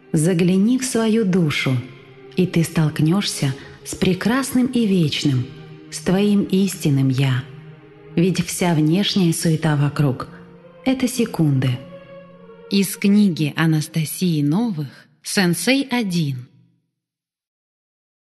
Загляни в свою душу, и ты столкнешься с прекрасным и вечным, с твоим истинным «Я». Ведь вся внешняя суета вокруг — это секунды. Из книги Анастасии Новых «Сенсей 1».